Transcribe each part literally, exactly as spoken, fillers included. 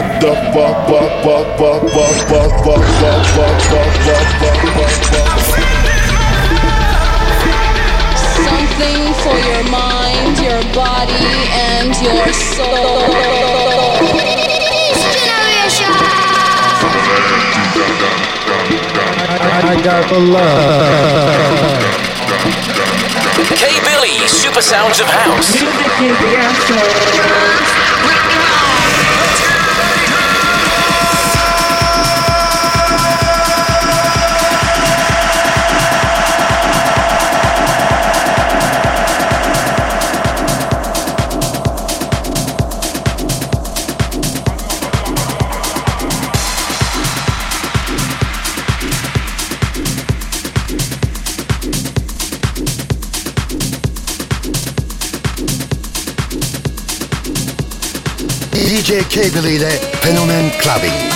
the fuck, fuck, fuck, fuck, fuck, fuck, fuck, fuck, fuck, fuck, fuck, fuck, fuck. Something for your mind, your body, and your soul. I got the love. K-Billy, Super Sounds of House. Music is the answer. D J K-Billy ile Fenomen Clubbing.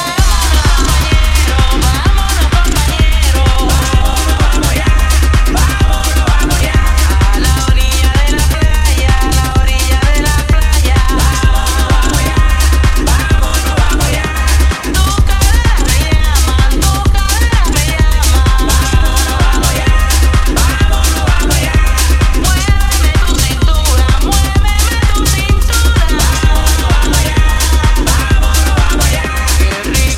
Qué rico.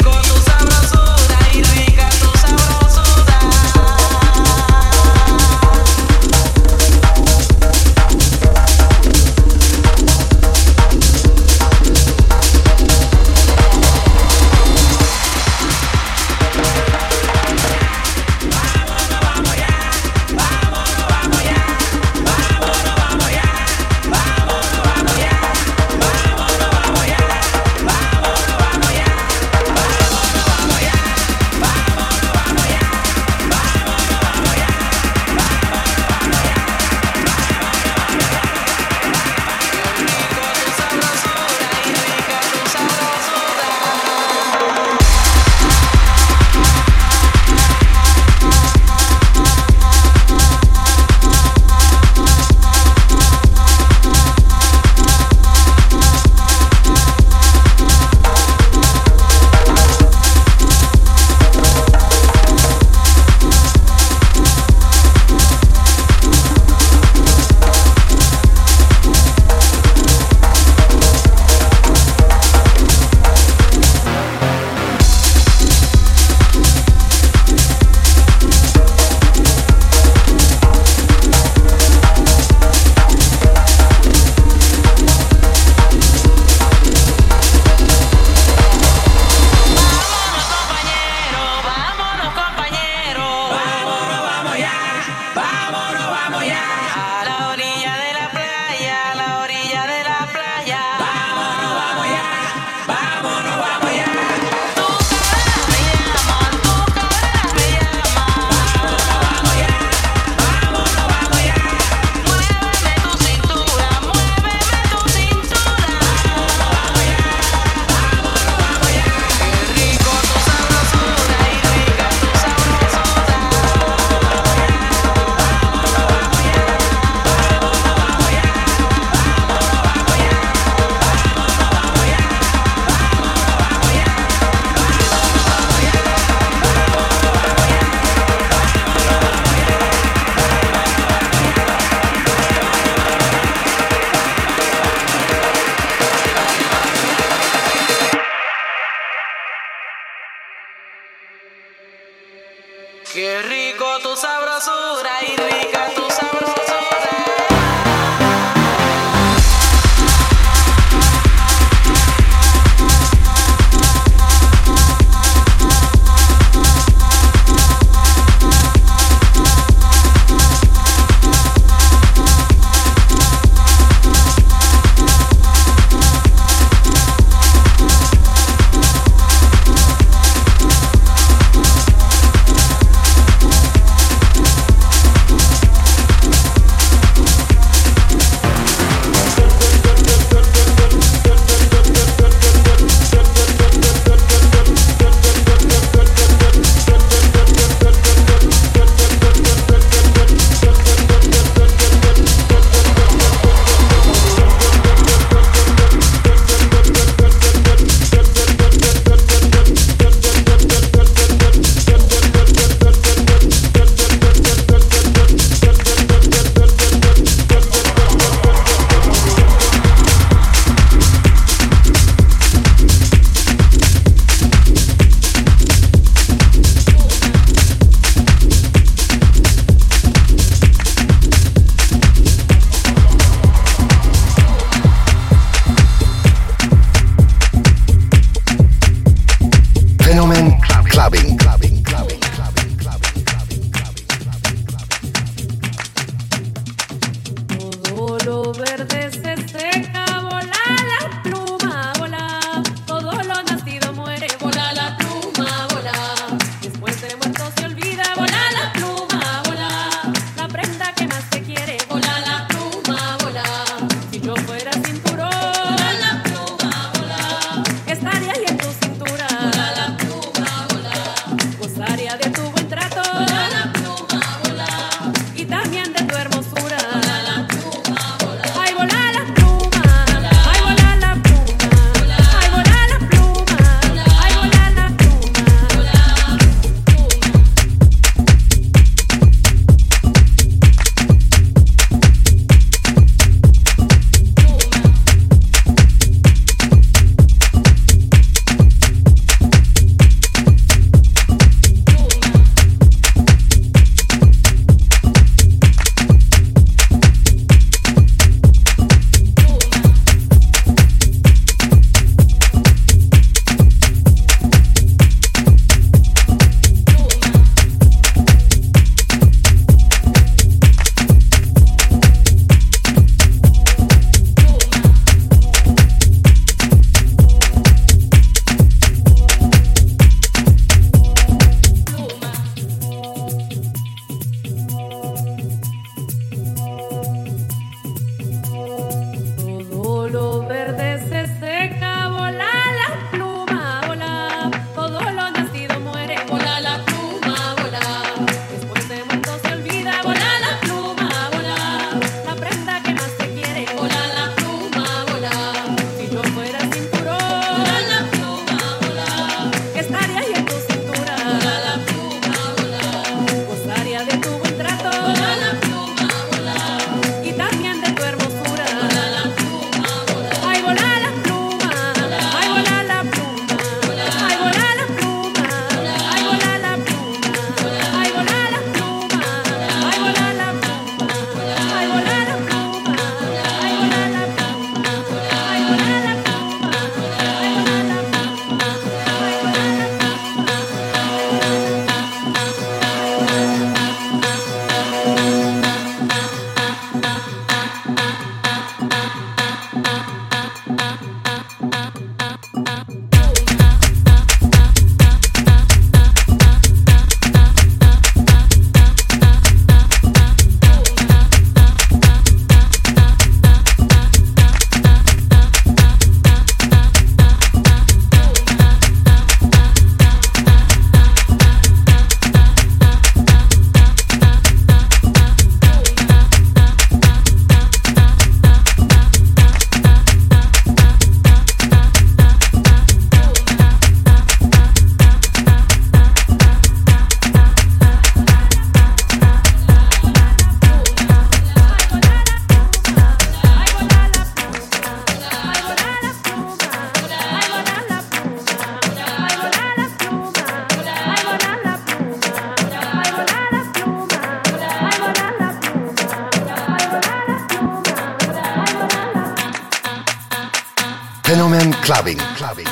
Fenomen Clubbing. Clubbing.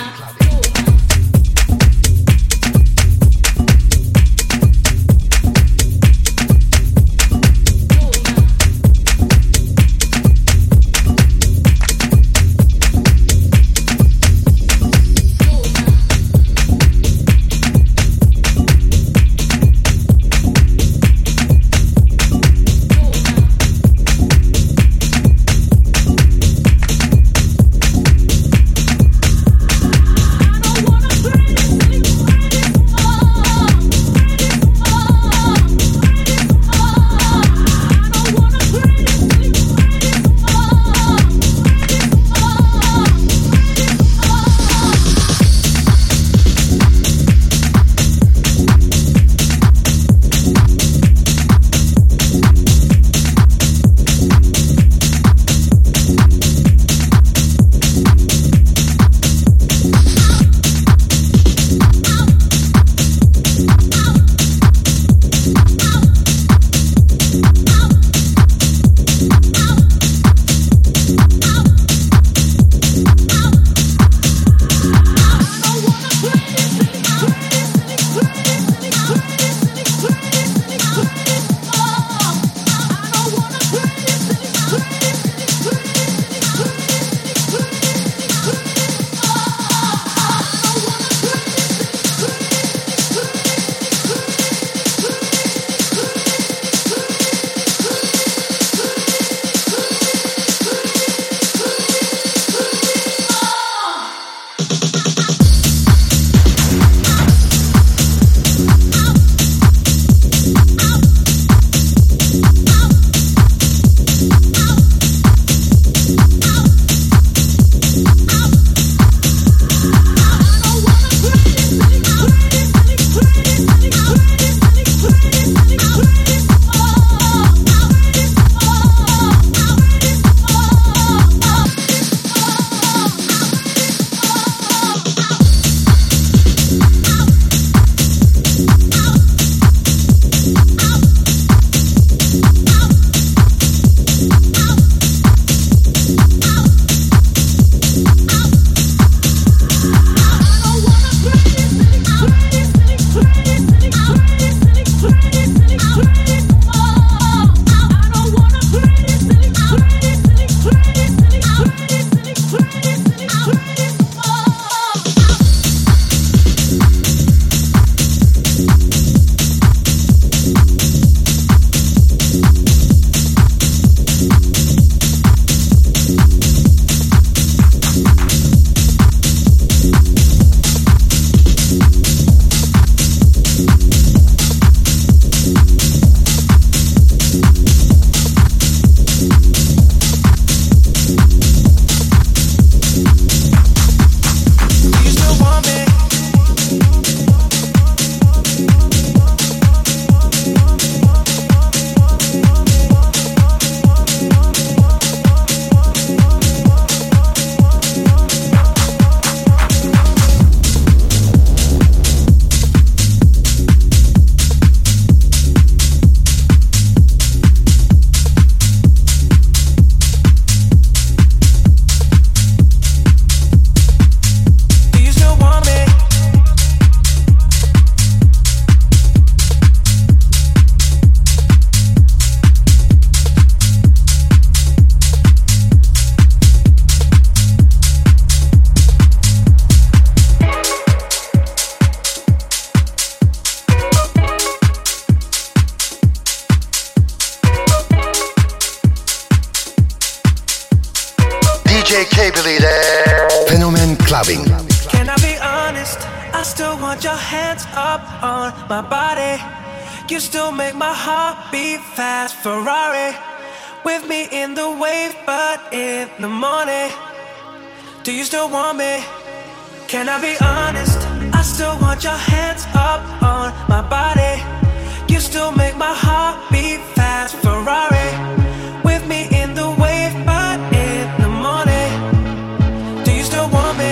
D J Cable ile Fenomen Clubbing. Can I be honest? I still want your hands up on my body. You still make my heart beat fast. Ferrari with me in the wave, but in the morning. Do you still want me? Can I be honest? I still want your hands up on my body. You still make my heart beat fast. Ferrari with me in the wave, but in the morning. Do you still want me?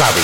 clubbing.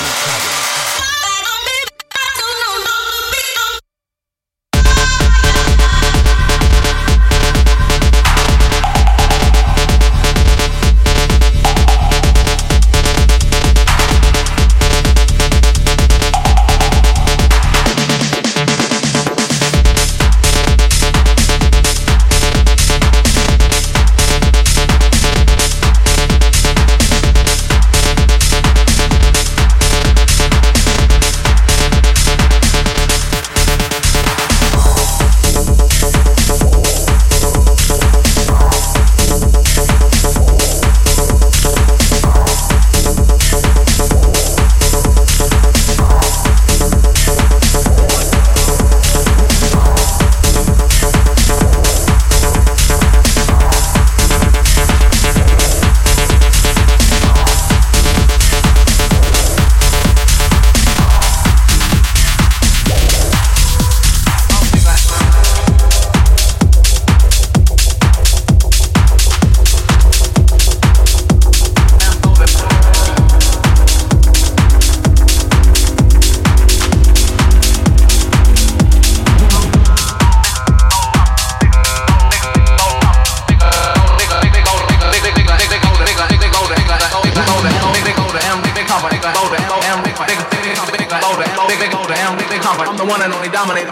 I'm the one and only dominator.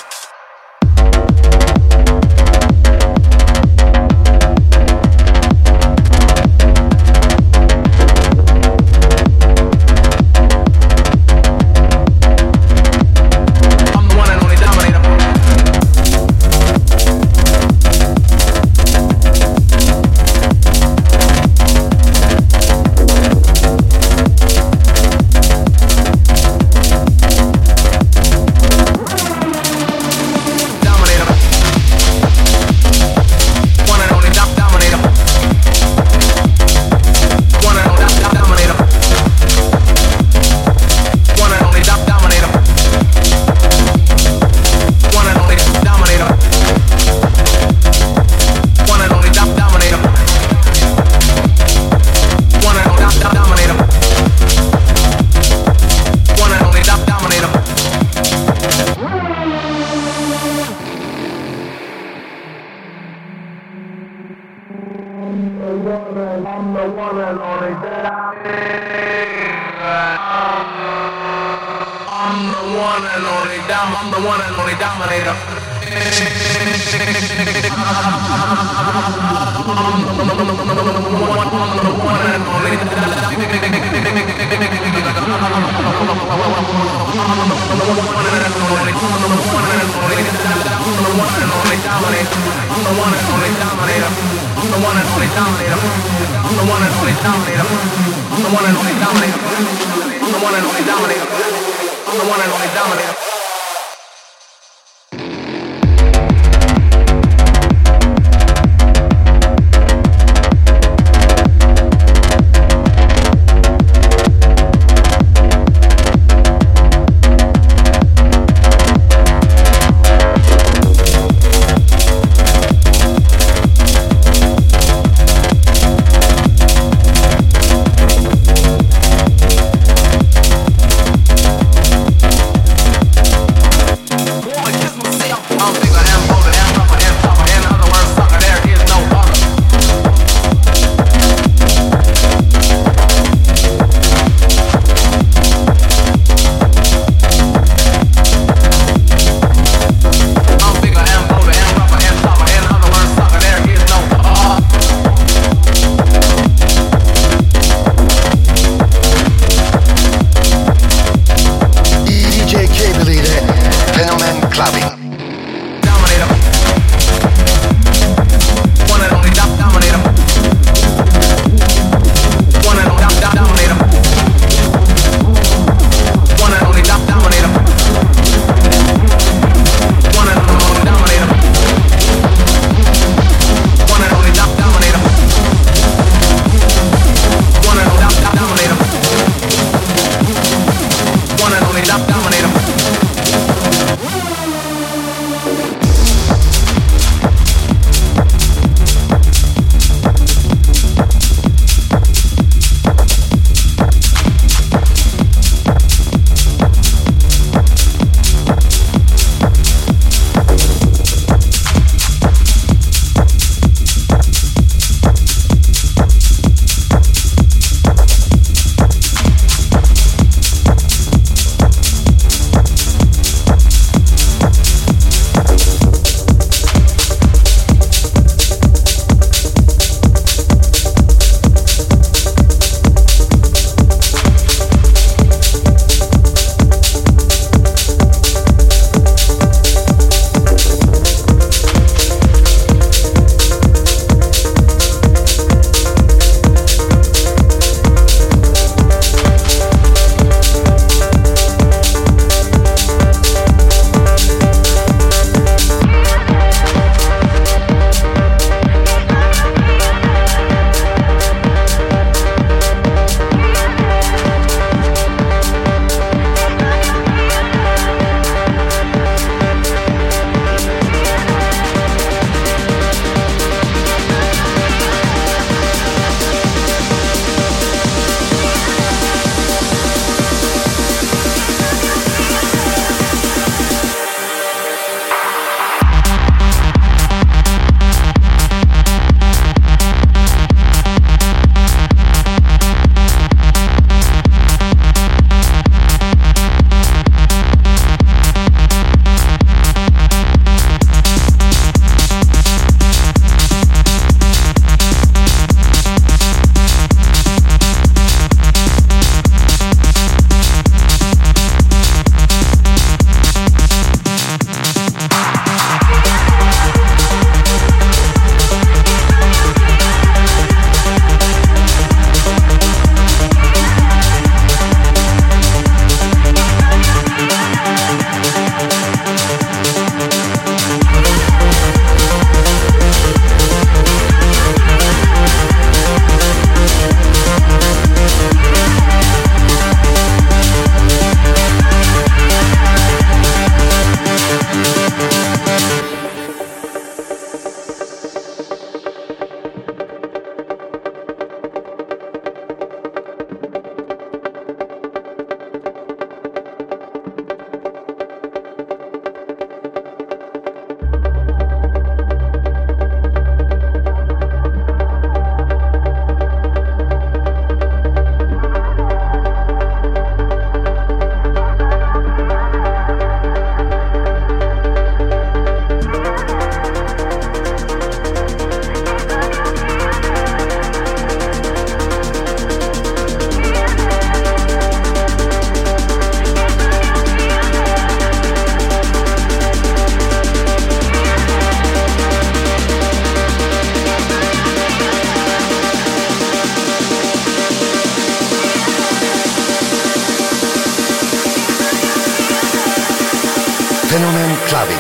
Clubbing.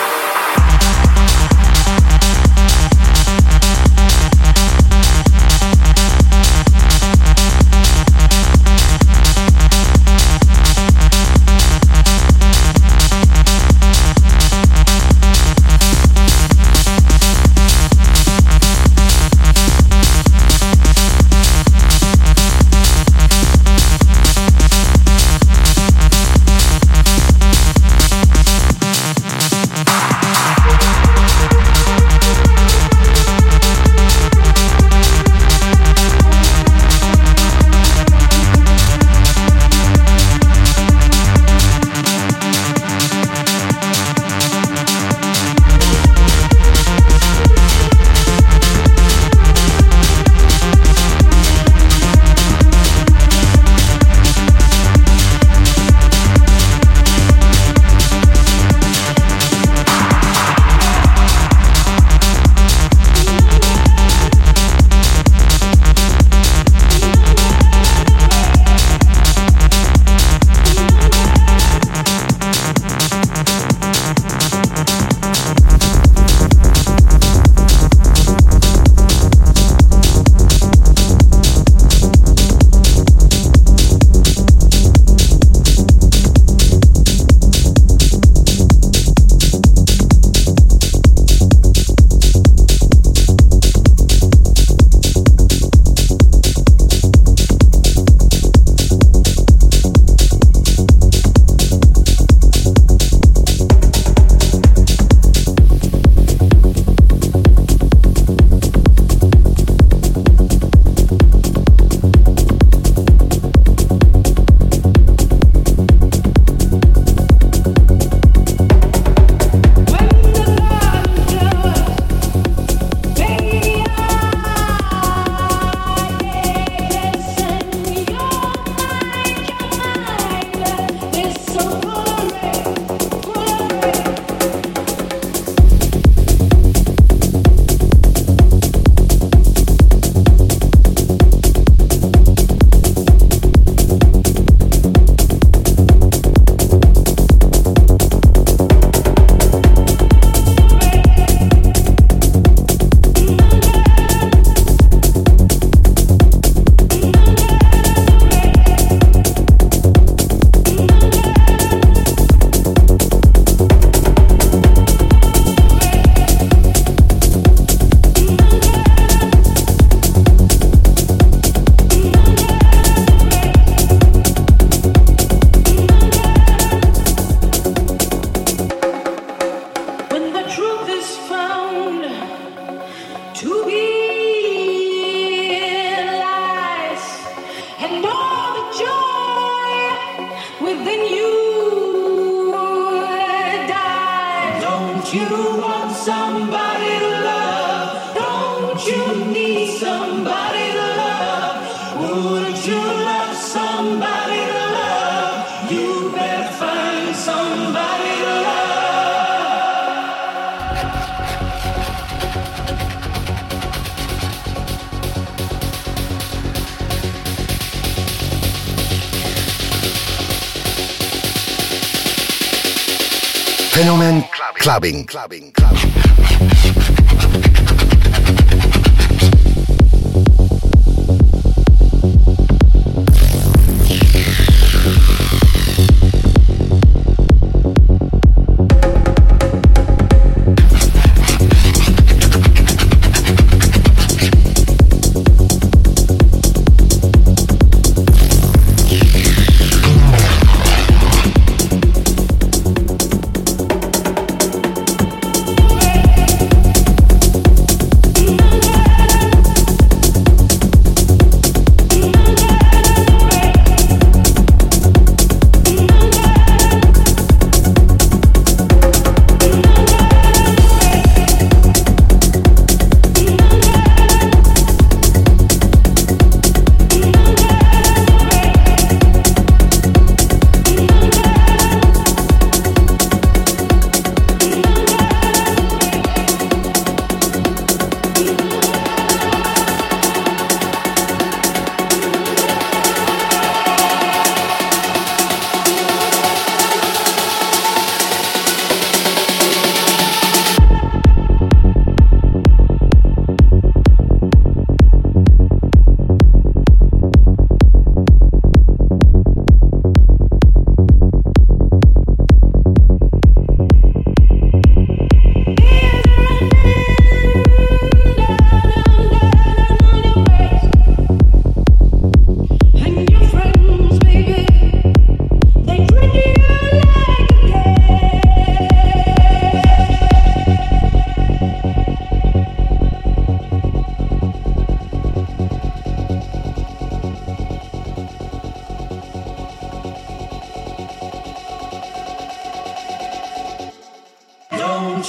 Fenomen Clubbing. Clubbing. Clubbing. Way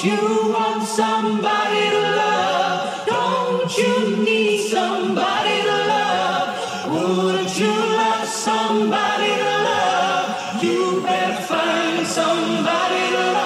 you want somebody to love? Don't you need somebody to love? Wouldn't you love somebody to love? You better find somebody to love.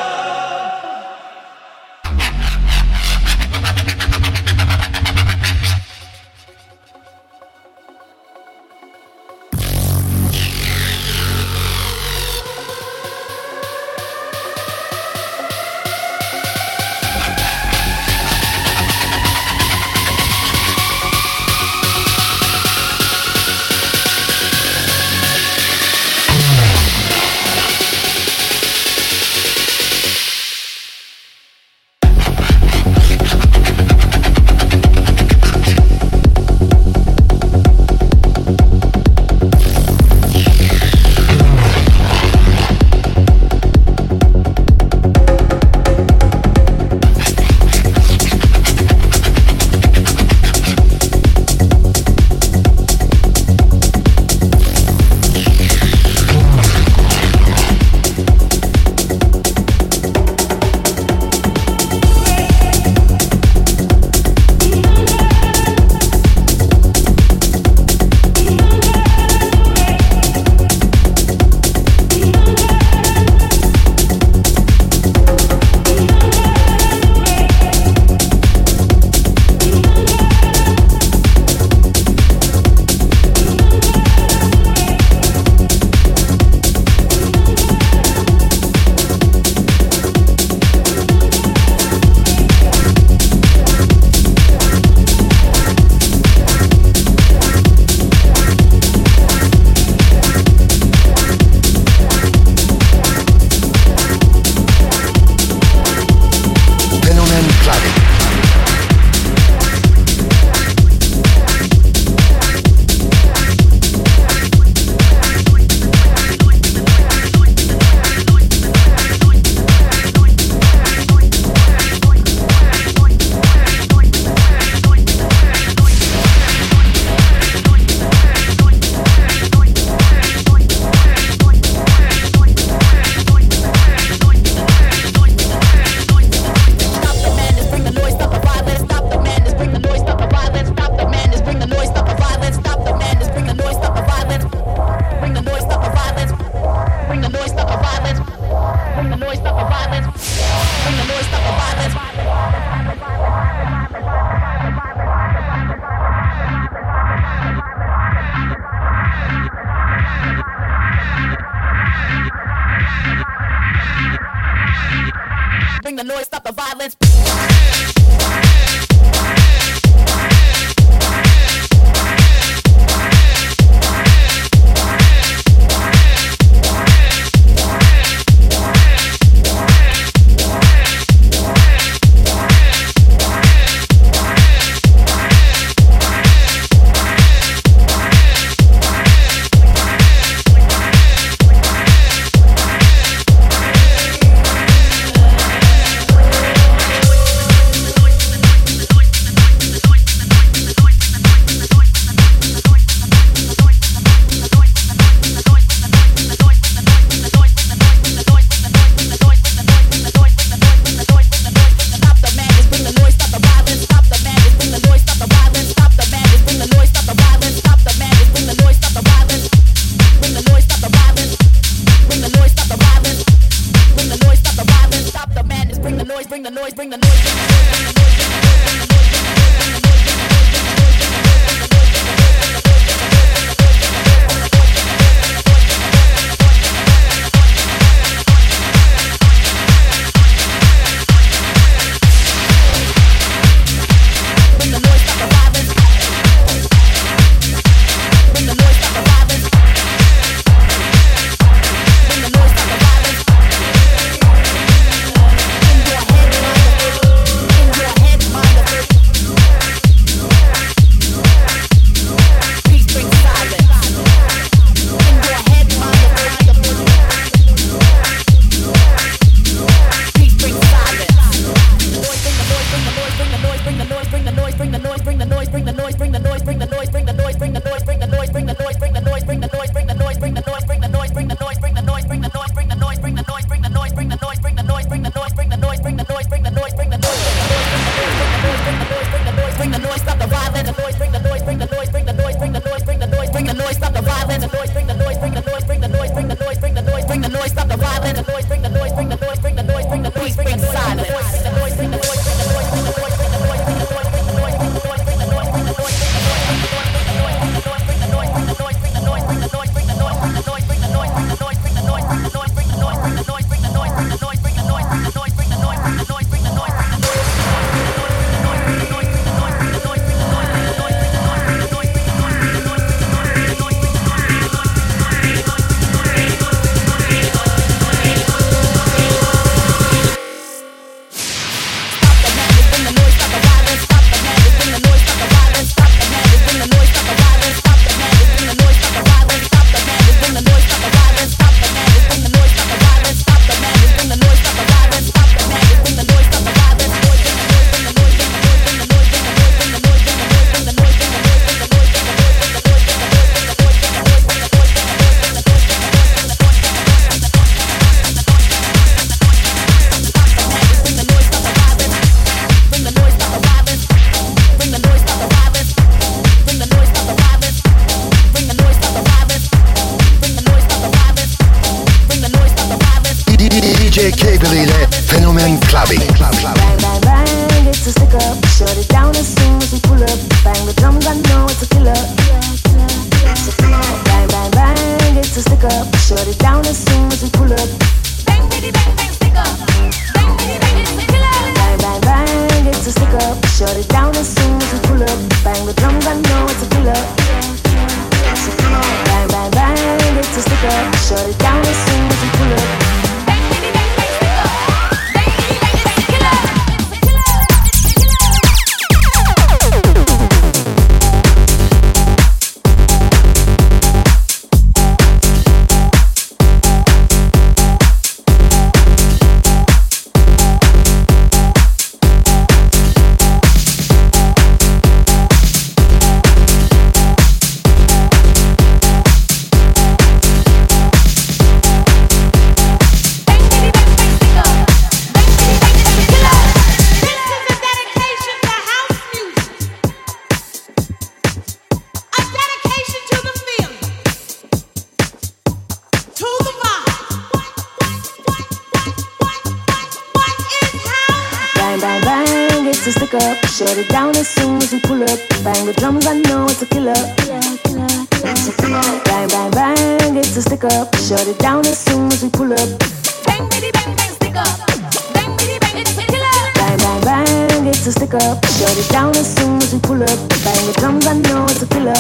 clubbing. Club, club. Bang, bang, bang, it's a stick up. Shut it down as soon as we pull up. Bang the drums, I know it's a killer. Bang, bang, bang, it's a stick up. Shut it down as soon as we pull up. Bang, bitty, bang, bang, stick up. Bang, bitty, bang, it's a killer. Bang, bang, bang, it's a stick up. Shut it down as soon as we pull up. Bang the drums, I know it's a killer. Bang, bang, bang, it's a stick up. Shut it down as soon as we pull up. Bang, bitty, bang, bang, stick up. Bang, bitty, bang, it's a killer. Shut it down as soon as we pull up. Bang the drums, I know it's a killer. Bang, bang, bang, it's a stick up. Shut it down as soon as we pull up. Bang, bitty, bang, bang, stick up. Bang, bitty, bang, it's a killer. Bang, bang, bang, it's a stick up. Shut it down as soon as we pull up. Bang the drums, I know it's a killer.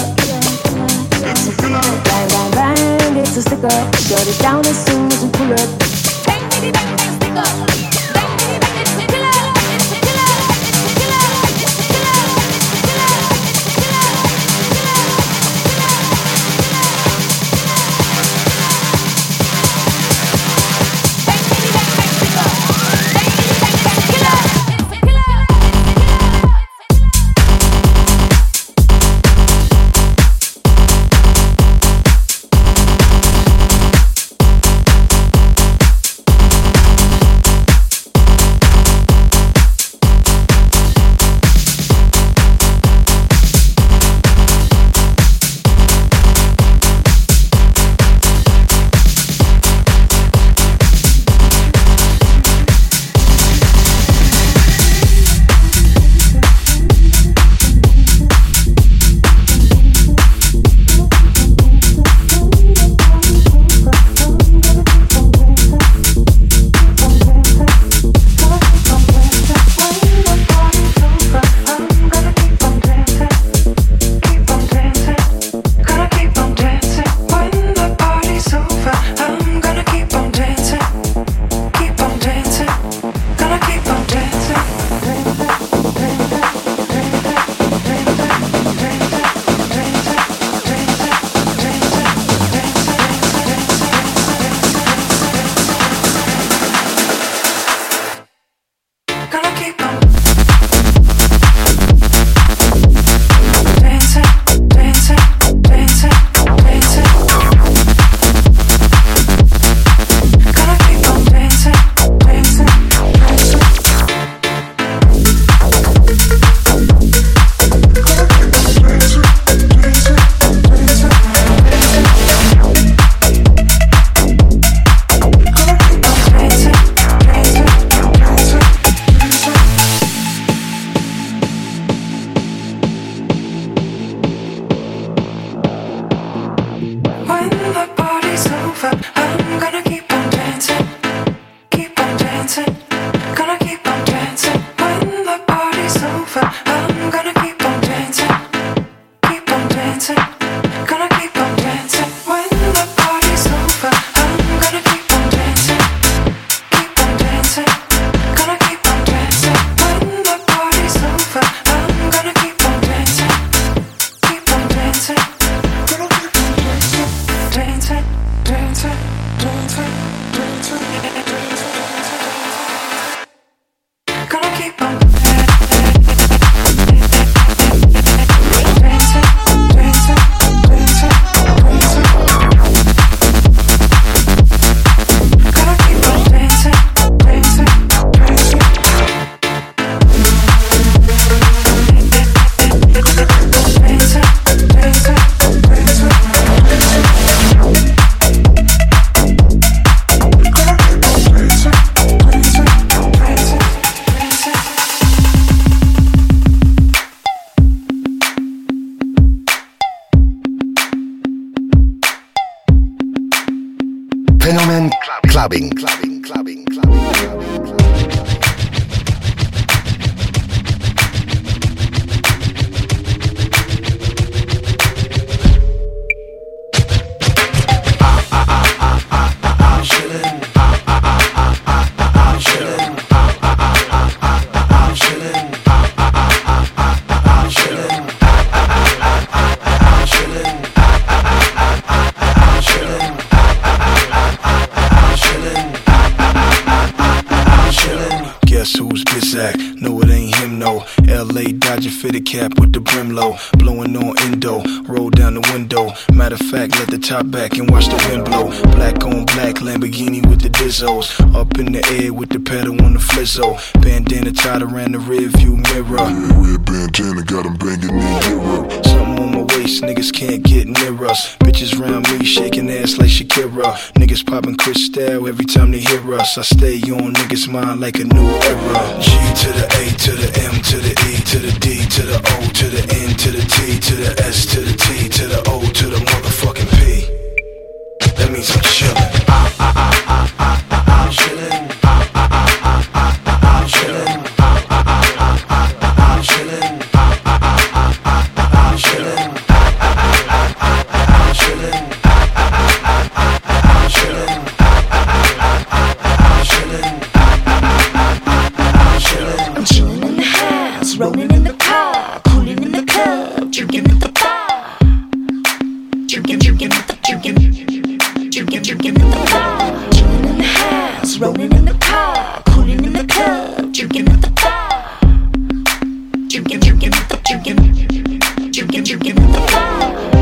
Bang, bang, bang, it's a stick up. Shut it down as soon as we pull up. Bang, bitty, bang, bang, stick up. Bang, bitty, bang, it's a killer. clubbing, clubbing, clubbing, clubbing, clubbing, clubbing. No, it ain't him, no. L A Dodger fitted cap with the brim low. Blowing on endo, roll down the window. Matter of fact, let the top back and watch the wind blow. Black on black, Lamborghini with the Dizzos. Up in the air with the pedal on the flizzo. Bandana tied around the rear view mirror. Yeah, red bandana got him banging in Europe. Something on my waist, niggas can't get near us. Bitches round me, shaking ass like Shakira. Niggas popping Cristal every time they hear us. I stay on niggas' mind like a new era. G to the A to the M to the E to the D to the O to the N to the T to the S to the T to the O to the motherfucking P. That means I'm chillin'. I, I, I, I, I, I, I'm chillin'. I, I, I, I, I, I, I'm chillin'. I, I, I, I, I, I, I'm chillin'. I, I, I, I, I, I, I'm chillin'. I, I, I, I, I, I'm chillin'. I, I, I, I, I, I'm chillin'. I, I, I, I, I'm chillin'. I'm chillin' in the house, rollin' in the car, coolin' in the club, drinking at the bar. Drinking, drinking at the drinking, drinking, drinking at the bar. Chillin' in the house, rollin' in the car, coolin' in the club, drinking at the bar. Drinking, drinking at the drinking, drinking, drinking at the bar.